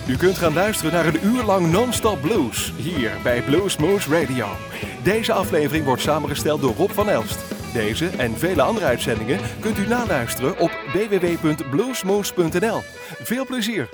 U kunt gaan luisteren naar een uur lang non-stop blues, hier bij Bluesmoose Radio. Deze aflevering wordt samengesteld door Rob van Elst. Deze en vele andere uitzendingen kunt u naluisteren op www.bluesmoose.nl. Veel plezier!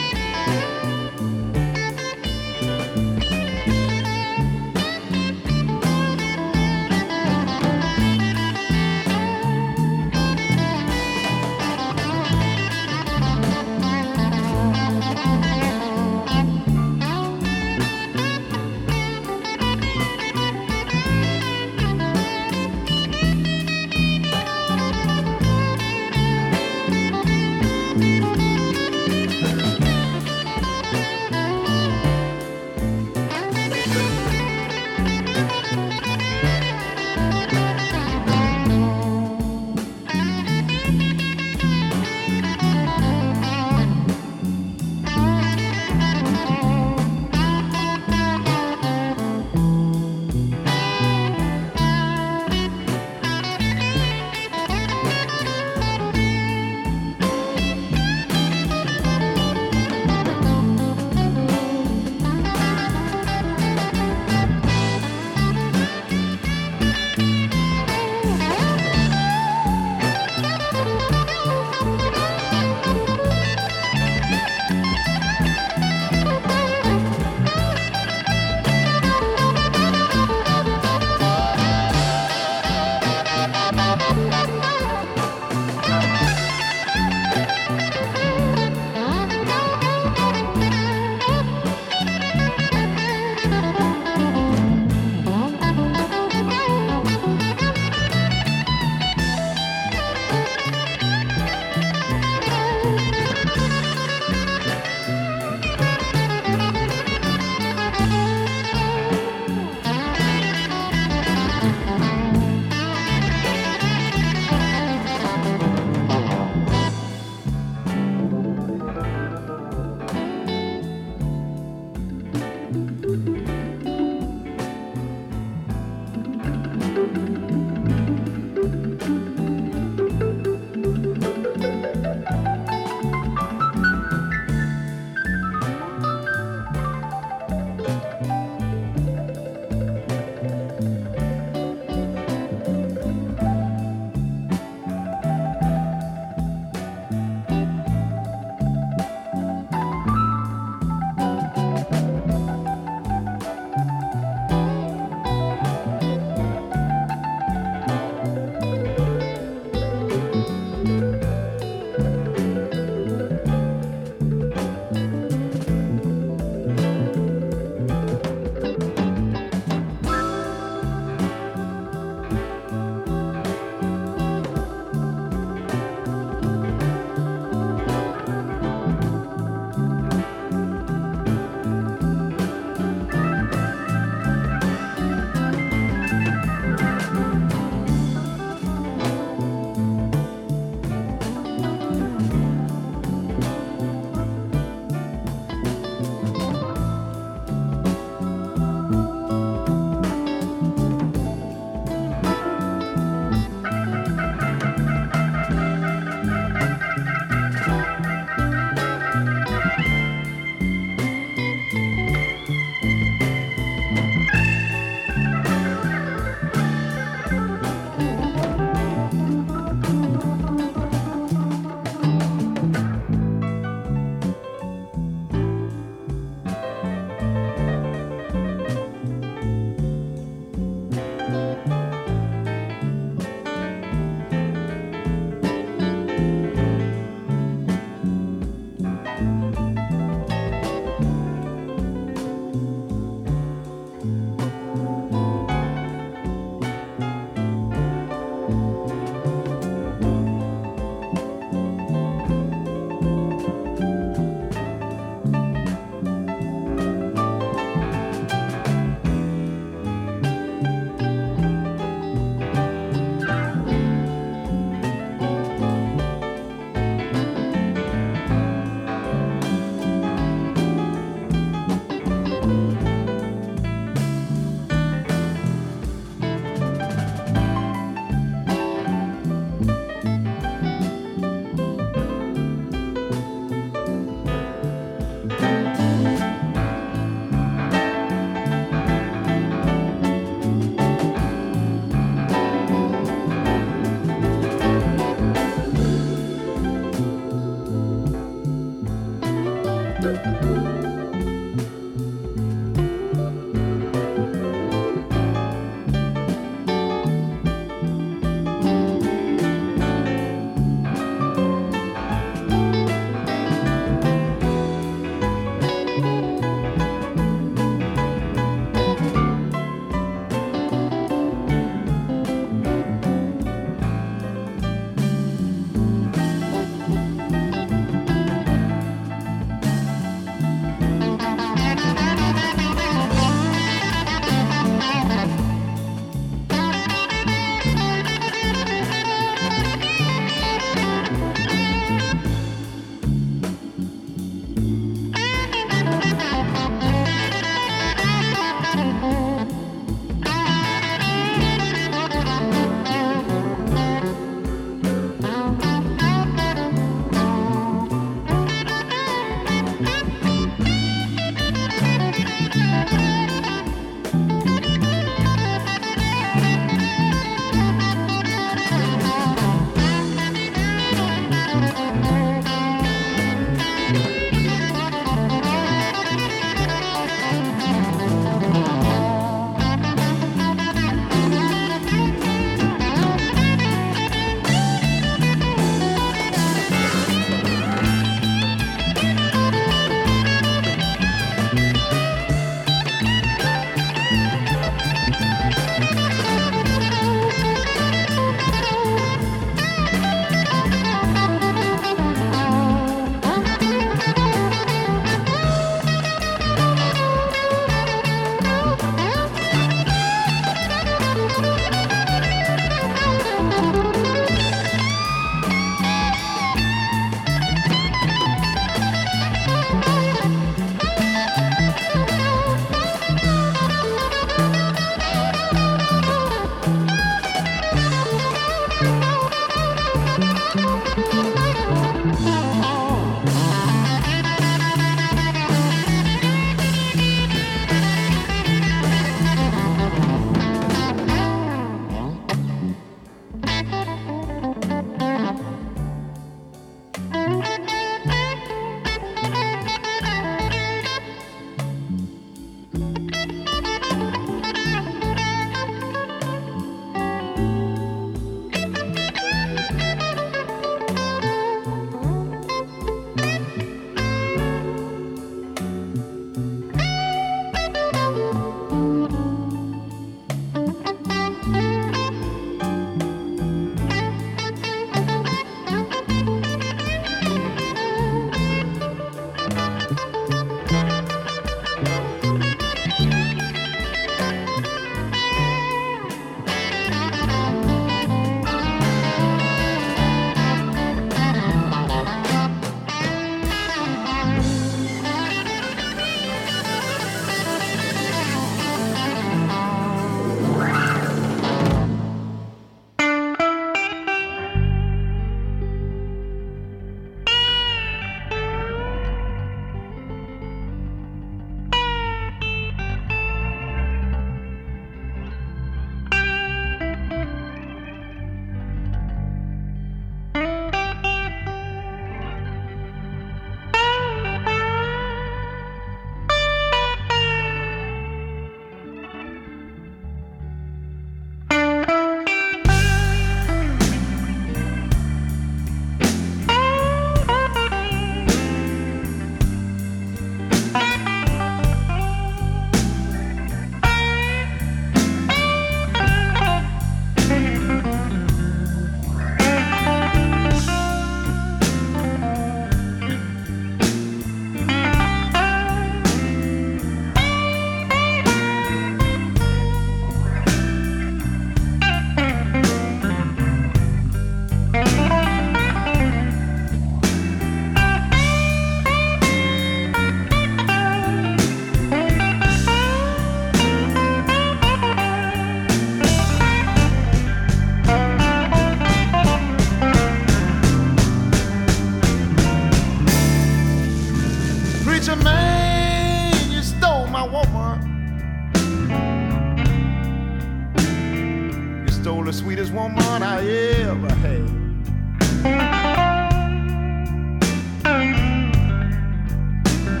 the sweetest woman I ever had.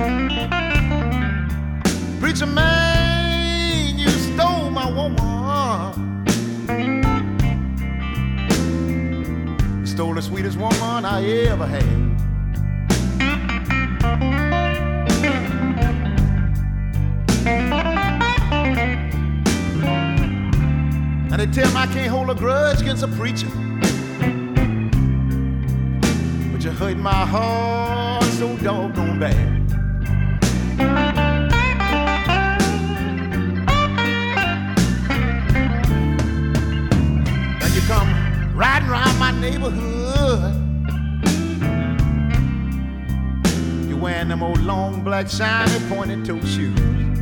sweetest woman I ever had. And they tell me I can't hold a grudge against a preacher, but you hurt my heart so doggone bad. Now you come riding around my neighborhood, you wearing them old long black shiny pointed toe shoes.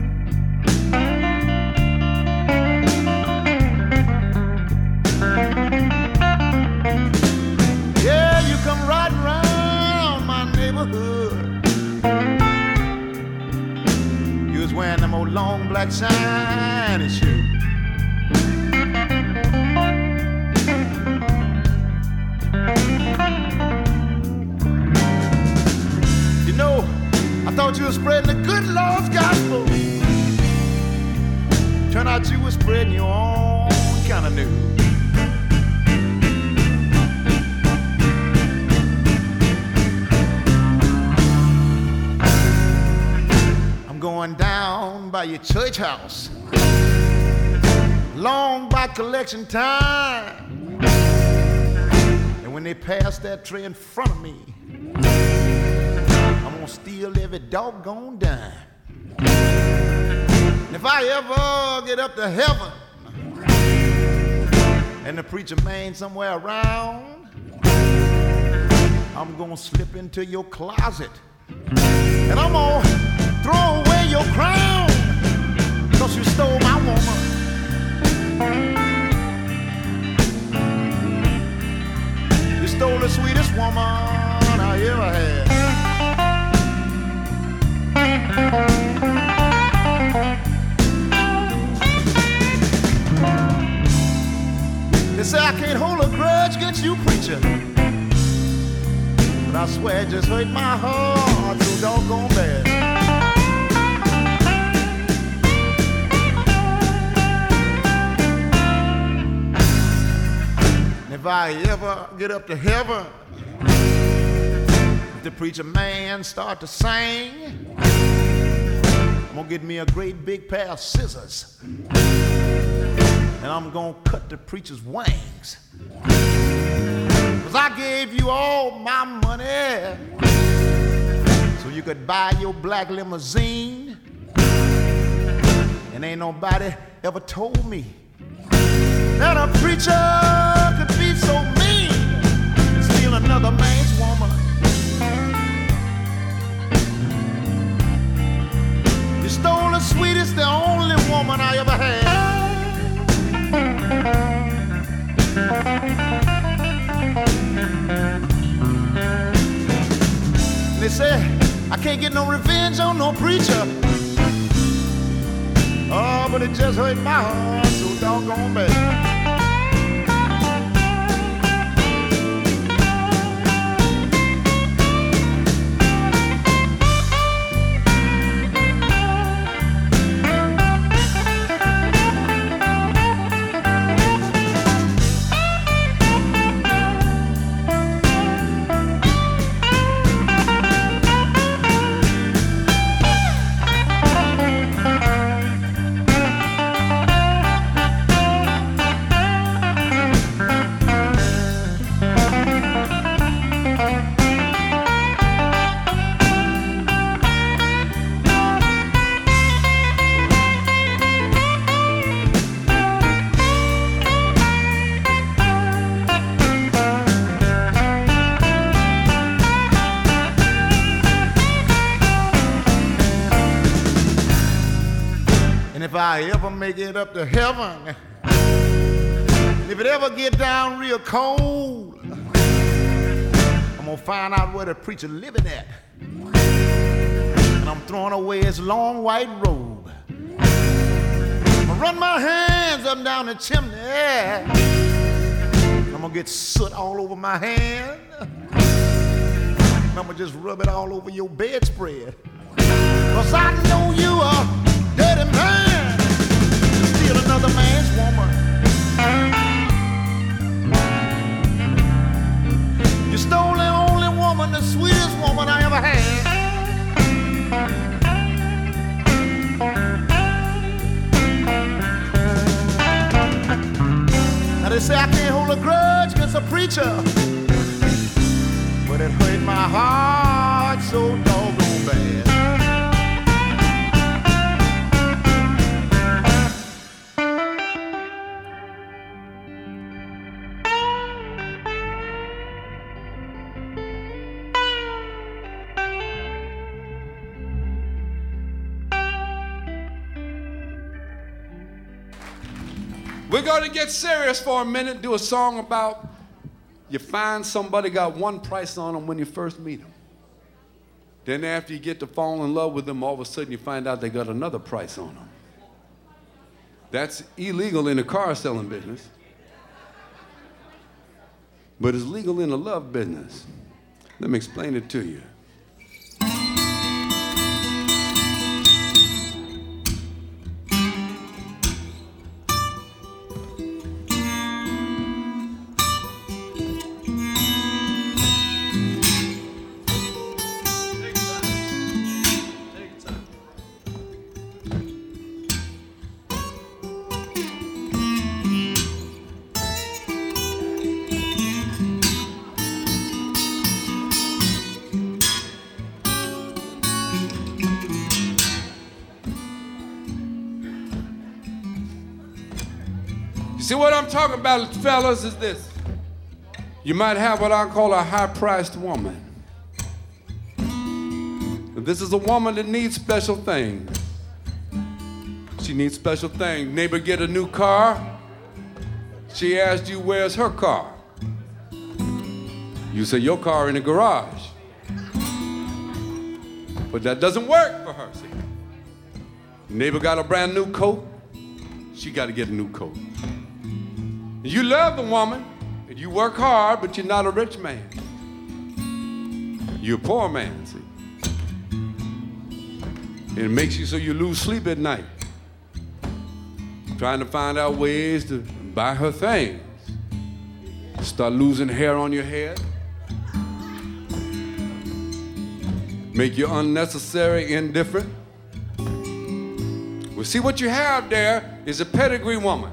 Yeah, you come riding around my neighborhood, you was wearing them old long black shiny shoes. You know, I thought you were spreading the good Lord's gospel. Turned out you were spreading your own kind of news. I'm going down by your church house, long by collection time. And when they pass that tray in front of me, I'm gonna steal every doggone dime. And if I ever get up to heaven and the preacher man somewhere around, I'm gonna slip into your closet and I'm gonna throw away your crown, 'cause you stole my woman. You stole the sweetest woman I ever had. They say I can't hold a grudge against you, preacher, but I swear it just hurt my heart so doggone bad. And if I ever get up to heaven, if the preacher man start to sing, I'm gonna get me a great big pair of scissors and I'm gonna cut the preacher's wings. 'Cause I gave you all my money so you could buy your black limousine, and ain't nobody ever told me that a preacher could be so mean and steal another man's woman. You stole the sweetest, the only woman I ever had. They say I can't get no revenge on no preacher. Oh, but it just hurt my heart so doggone bad. If I ever make it up to heaven, if it ever get down real cold, I'm gonna find out where the preacher living at, and I'm throwing away his long white robe. I'm gonna run my hands up and down the chimney, I'm gonna get soot all over my hand, and I'm gonna just rub it all over your bedspread, 'cause I know you are dirty man. Steal another man's woman. You stole the only woman, the sweetest woman I ever had. Now they say I can't hold a grudge against a preacher, but it hurt my heart so doggone bad. We're going to get serious for a minute, do a song about you find somebody got one price on them when you first meet them. Then after you get to fall in love with them, all of a sudden you find out they got another price on them. That's illegal in the car selling business, but it's legal in the love business. Let me explain it to you. See, what I'm talking about, fellas, is this. You might have what I call a high-priced woman. This is a woman that needs special things. She needs special things. Neighbor get a new car. She asks you, where's her car? You say, your car in the garage. But that doesn't work for her, see. Neighbor got a brand new coat. She got to get a new coat. You love the woman, and you work hard, but you're not a rich man. You're a poor man, see. And it makes you so you lose sleep at night, trying to find out ways to buy her things. Start losing hair on your head. Make you unnecessary indifferent. Well, see, what you have there is a pedigree woman.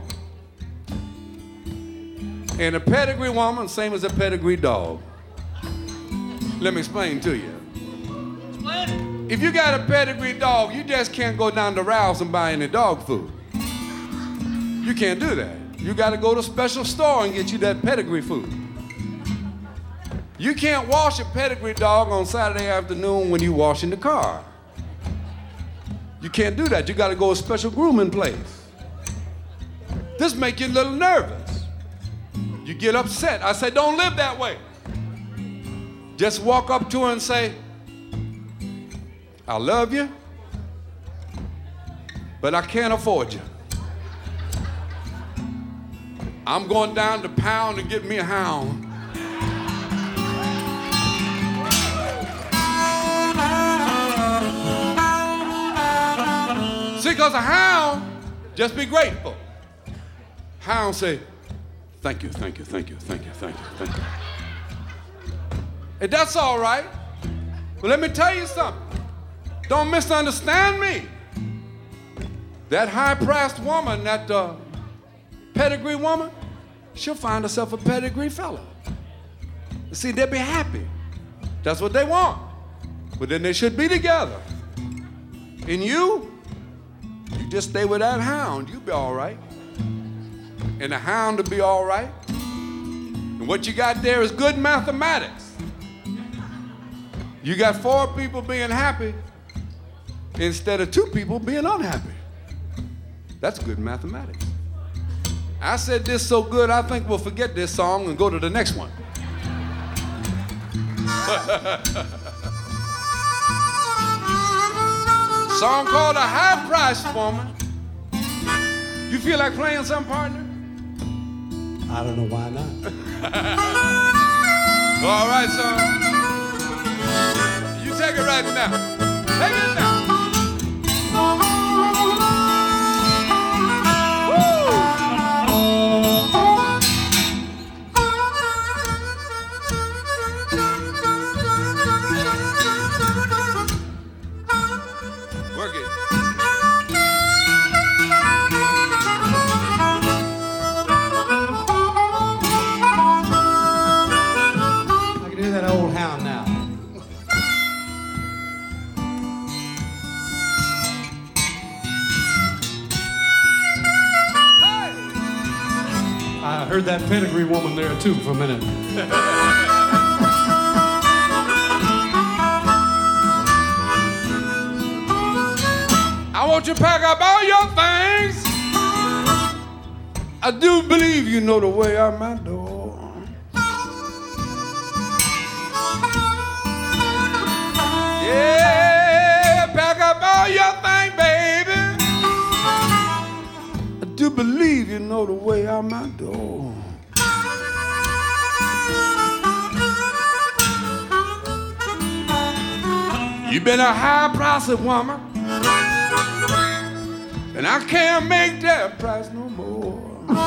And a pedigree woman, same as a pedigree dog. Let me explain to you. Explain. If you got a pedigree dog, you just can't go down to Ralph's and buy any dog food. You can't do that. You got to go to a special store and get you that pedigree food. You can't wash a pedigree dog on Saturday afternoon when you washing the car. You can't do that. You got to go to a special grooming place. This make you a little nervous. You get upset. I say, don't live that way. Just walk up to her and say, I love you, but I can't afford you. I'm going down to Pound to get me a hound. See, because a hound, just be grateful. Hound say, thank you, thank you, thank you, thank you, thank you, thank you. And that's all right. But let me tell you something. Don't misunderstand me. That high-priced woman, that pedigree woman, she'll find herself a pedigree fella. See, they'll be happy. That's what they want. But then they should be together. And you just stay with that hound. You'll be all right. And the hound will be all right. And what you got there is good mathematics. You got 4 people being happy instead of 2 people being unhappy. That's good mathematics. I said this so good, I think we'll forget this song and go to the next one. Song called A High-Priced Woman. You feel like playing some, partner? I don't know why not. All right, son. You take it right now. Take it now. Woo! boogie. I can hear that old hound now. I heard that pedigree woman there too for a minute. I want you to pack up all your things. I do believe you know the way out my door. Yeah, pack up all your things, baby. I do believe you know the way out my door. You've been a high-priced woman, and I can't make that price no more.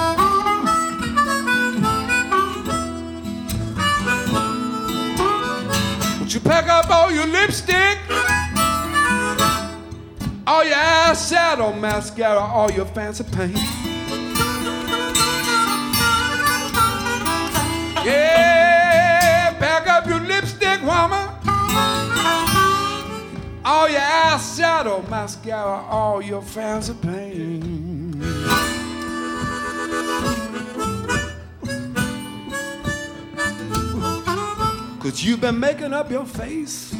Would you pack up all your lipstick, all your eyeshadow, mascara, all your fancy paint? Yeah, pack up your lipstick, woman, all your eyeshadow, mascara, all your fancy paint. Cause you've been making up your face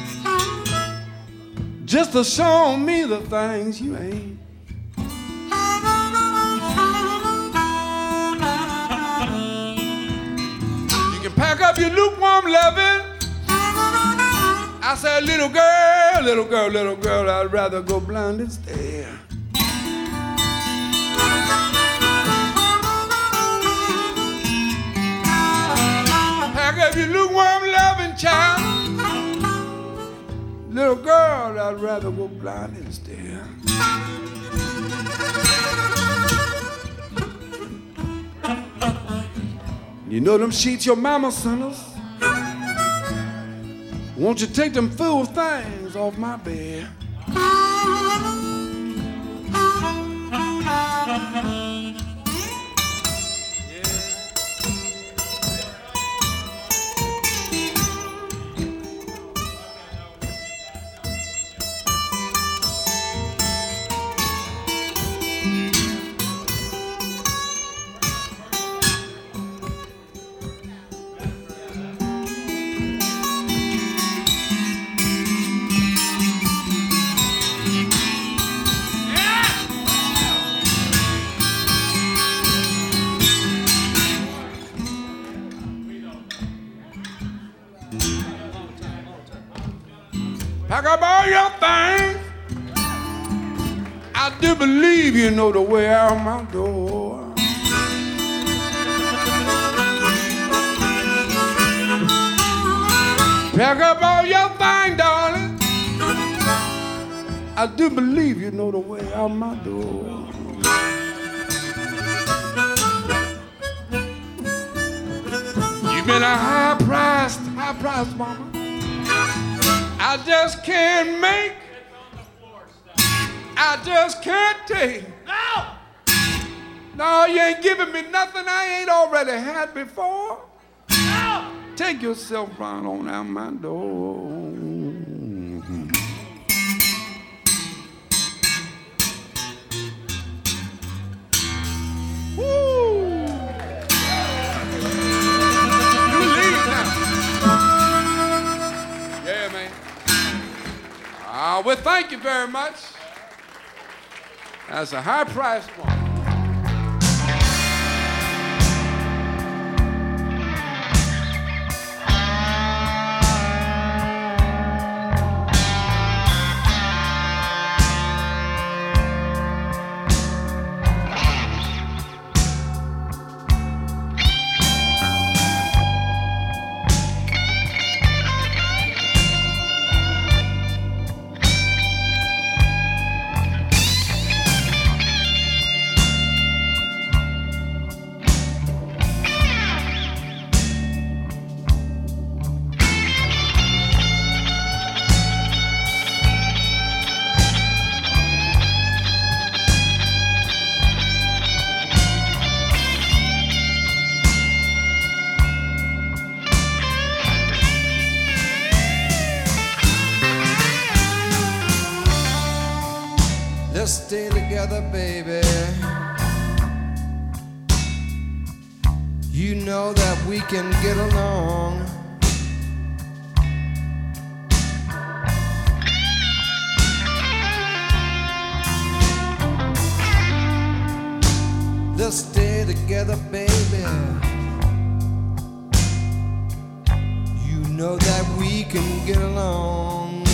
just to show me the things you ain't. You can pack up your lukewarm loving. I said, little girl, little girl, little girl, I'd rather go blind than stare. Pack up your lukewarm loving child. Little girl, I'd rather go blind than stare. You know them sheets your mama sent us? Won't you take them fool things off my bed? Pack up all your things. I do believe you know the way out my door. Pack up all your things, darling. I do believe you know the way out my door. You've been a high-priced woman. I just can't make, I just can't take. No, you ain't giving me nothing I ain't already had before. No. Take yourself right on out my door. Woo! You leave now. Yeah, man. Well, thank you very much. That's a high-priced one. Let's stay together, baby. You know that we can get along. Let's stay together, baby. You know that we can get along.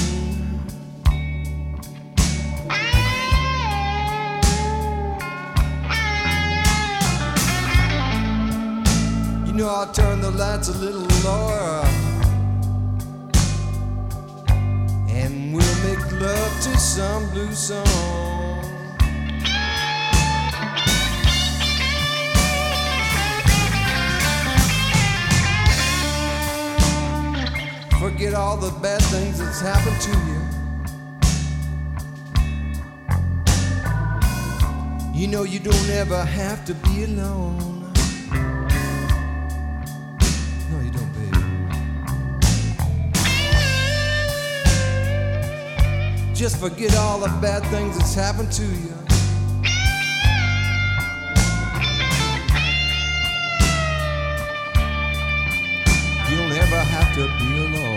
You know I'll turn the lights a little lower, and we'll make love to some blues song. Forget all the bad things that's happened to you. You know you don't ever have to be alone. No, you don't, baby. Just forget all the bad things that's happened to you. You don't ever have to be alone.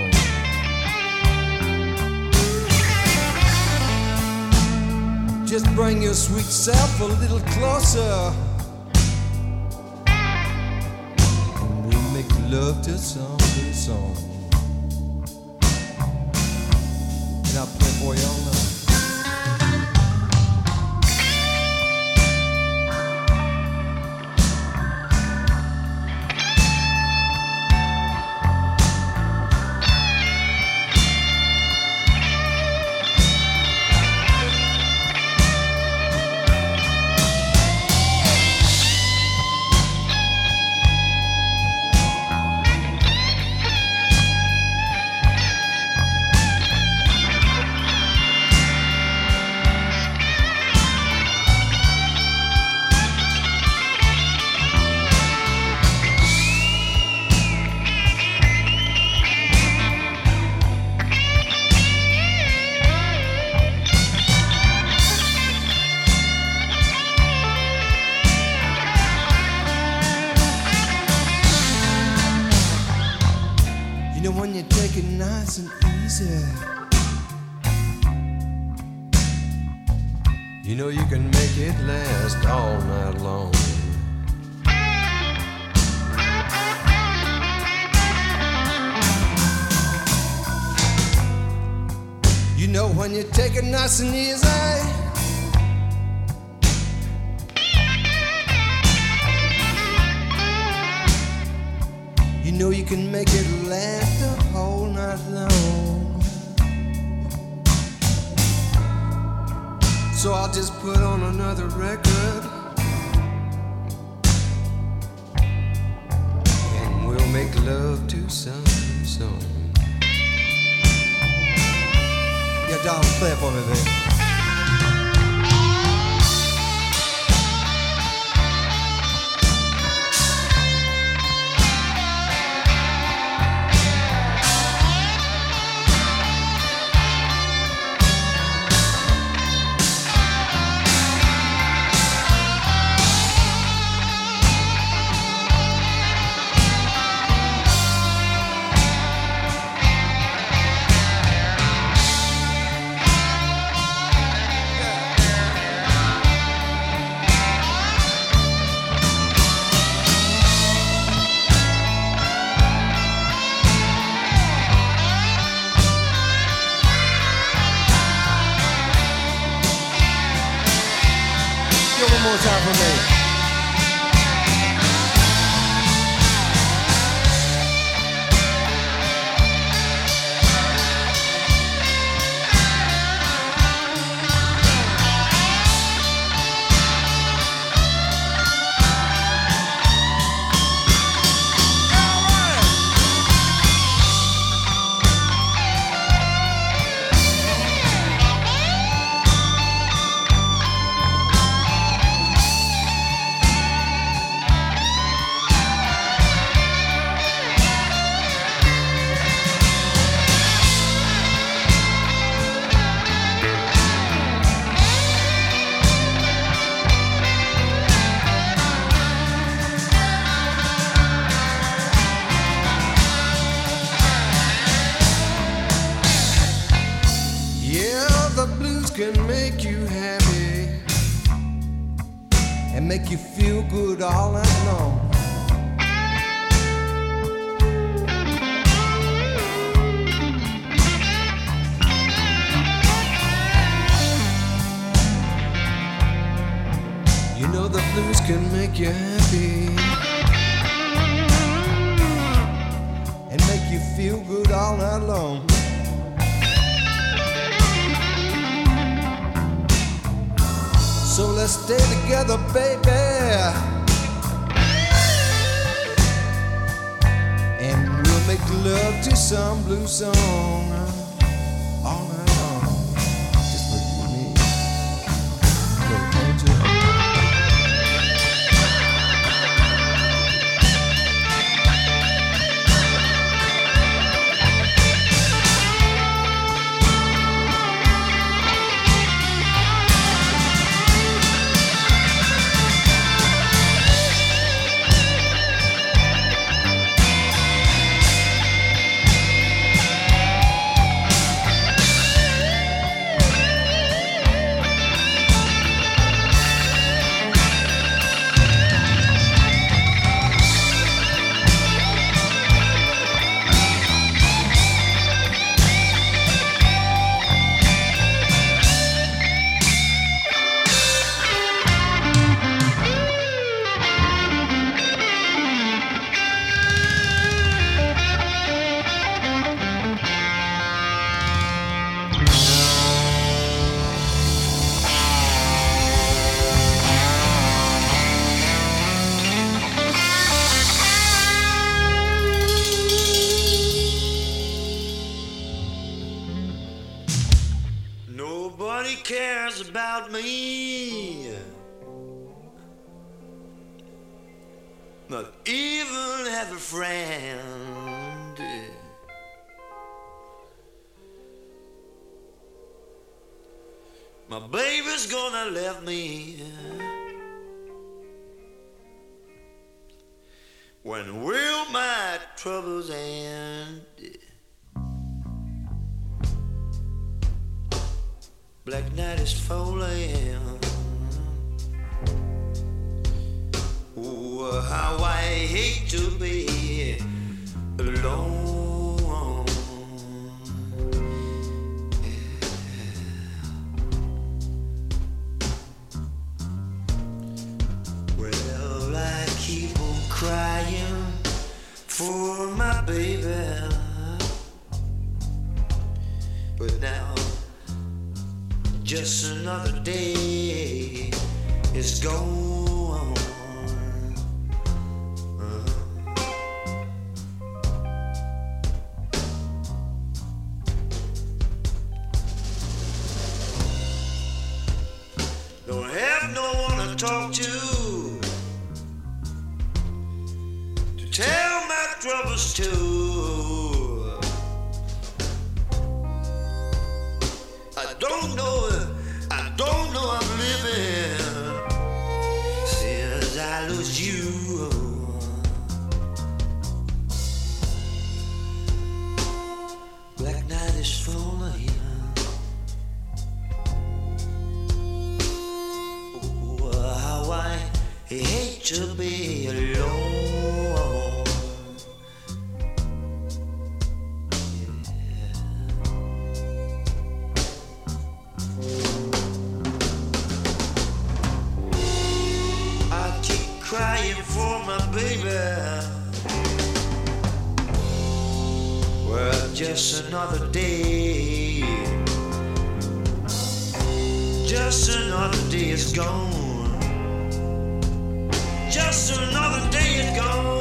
Just bring your sweet self a little closer, and we'll make love to some good song. And I'll play for you all night. When you take it nice and easy, you know you can make it last all night long. You know when you take it nice and easy, you know you can make it last the whole night long. So I'll just put on another record, and we'll make love to some song. Yeah, Don, play it for me, baby. One more time for me. can make you happy and make you feel good all night long. You know the blues can make you happy and make you feel good all night long. So let's stay together, baby, and we'll make love to some blues song all night long. Just for you and me. Little angel. Nobody cares about me, not even have a friend. My baby's gonna leave me. When will my troubles end? Black night is falling. Oh, how I hate to be alone. Well, I keep on crying for my baby, but now just another day is gone. Don't have no one to talk to tell my troubles to. I don't know I'm living since I lose you. Black night is falling. Oh, how I hate to be alone. Crying for my baby. Well, just another day. Just another day is gone. Just another day is gone.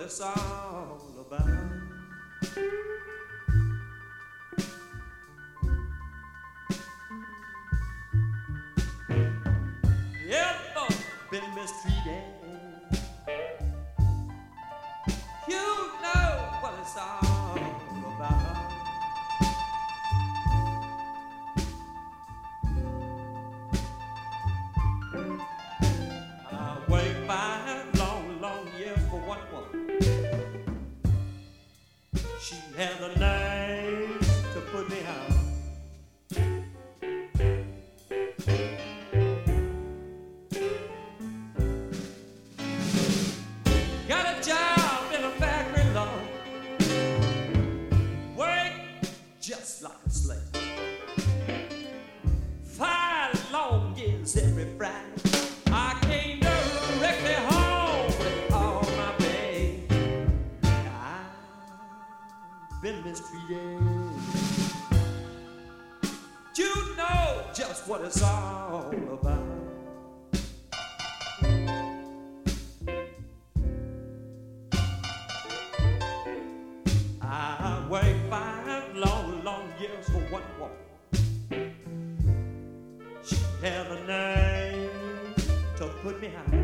it's all about. Ever been mistreated? You know what it's all about. I waited 5 long years for one woman. She had the nerve to put me out. Got a job in a factory, Lord. Work just like a slave. 5 long years every Friday. I came directly home with all my pay. I've been mistreated. You know just what it's all about. I worked 5 long years for one woman. She had a name to put me out.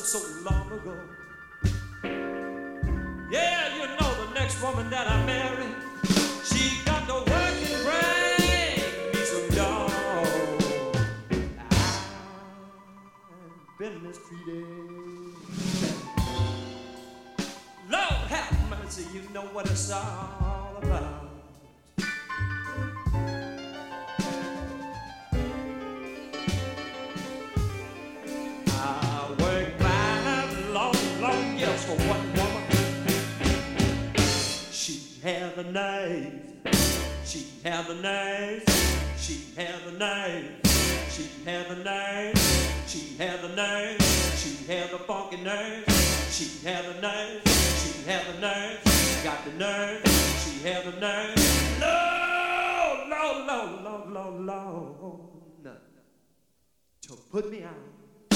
so long ago. Yeah, you know the next woman that I marry, she got to work and bring me some dough. I've been mistreated. Lord have mercy, you know what it's all about. For one woman, she had the nerve, she had the nerve, she had the nerve, she had the nerve, she had the nerve, she had the funky nerve, she had the nerve, she had the nerve, got the nerve, she had the nerve, Lord, to put me out.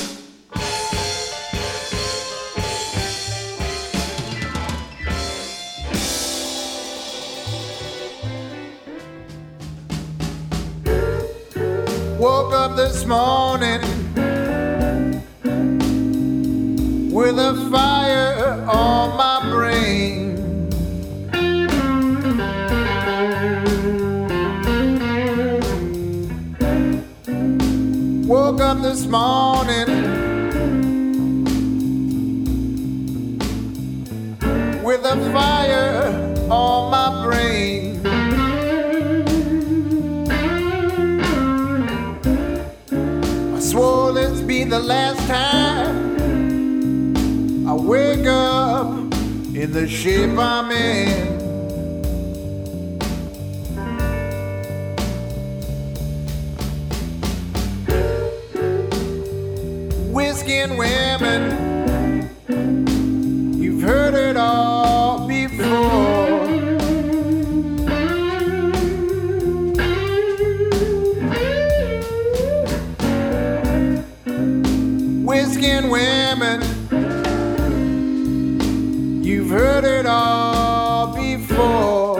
Woke up this morning with a fire on my brain. Woke up this morning with a fire on my brain. Swore this be the last time I wake up in the shape I'm in. Whiskey and women, you've heard it all before. Whiskey and women, you've heard it all before.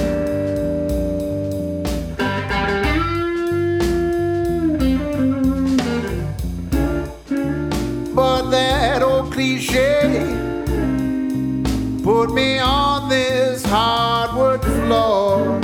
But that old cliche put me on this hardwood floor.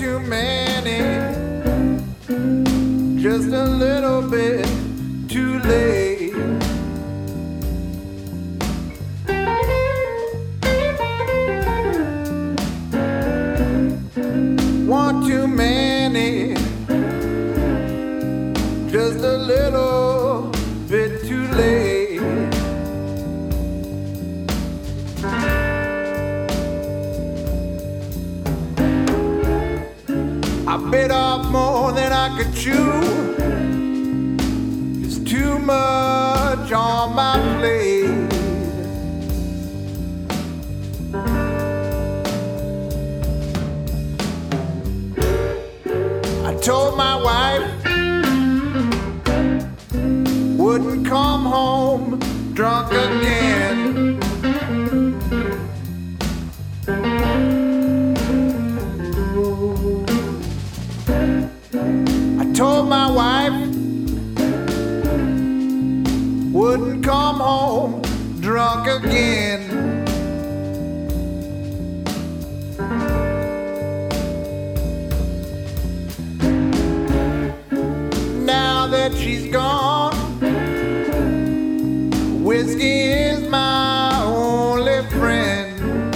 too many, just a little bit too late. One too many, just a little bit too late. I bit off more than I could chew. It's too much on my plate. I told my wife wouldn't come home drunk again. I told my wife wouldn't come home drunk again. Now that she's gone, whiskey is my only friend.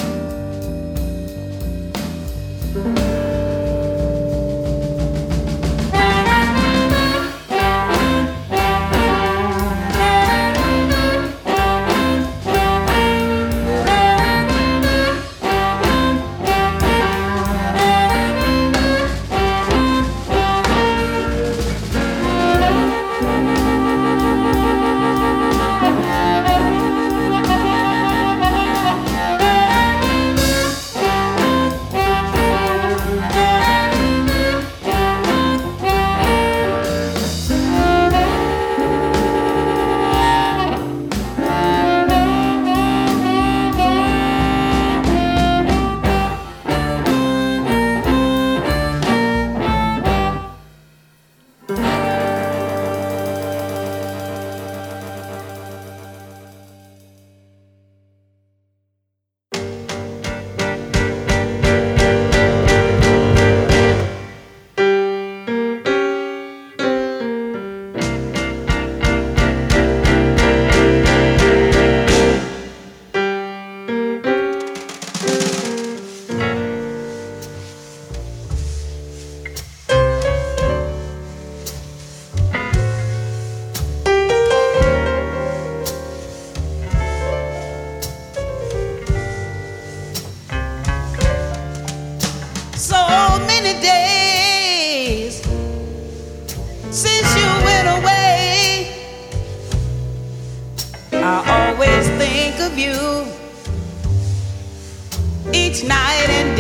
Each night and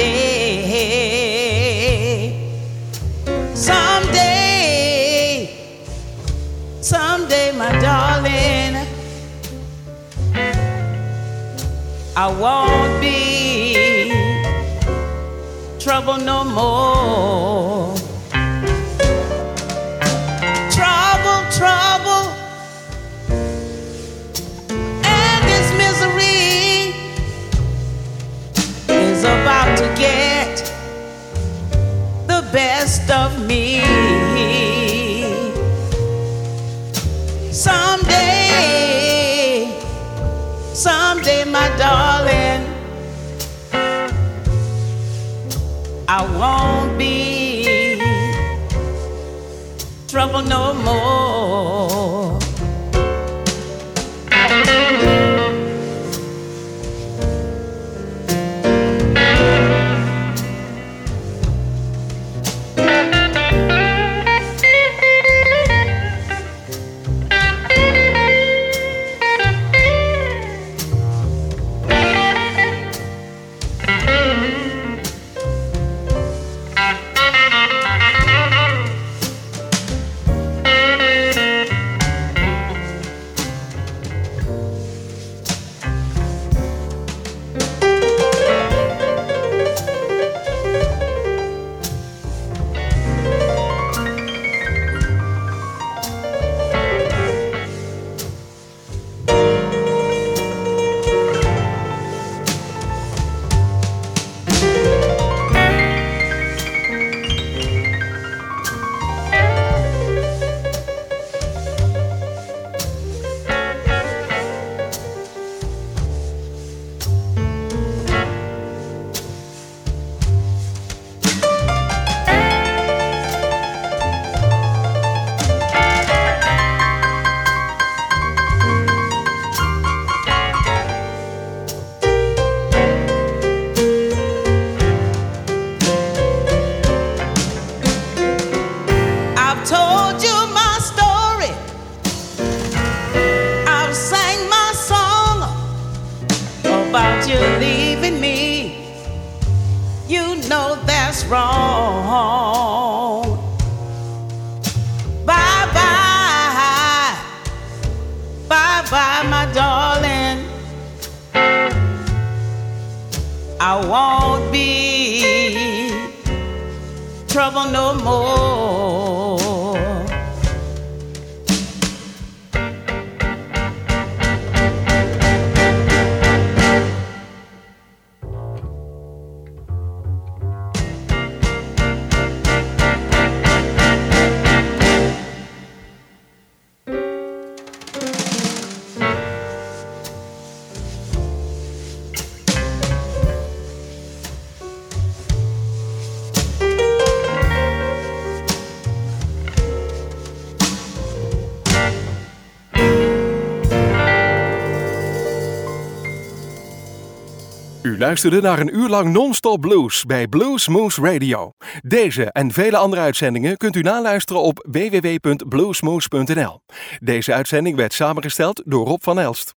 day. Someday, my darling, I won't be trouble no more. Trouble, and this misery is about to get the best of me. Someday, my darling, I won't be trouble no more. you know that's wrong. Bye bye, bye bye, my darling. I won't be trouble no more. U luisterde naar een uur lang non-stop blues bij Blues Moose Radio. Deze en vele andere uitzendingen kunt u naluisteren op www.bluesmoose.nl. Deze uitzending werd samengesteld door Rob van Elst.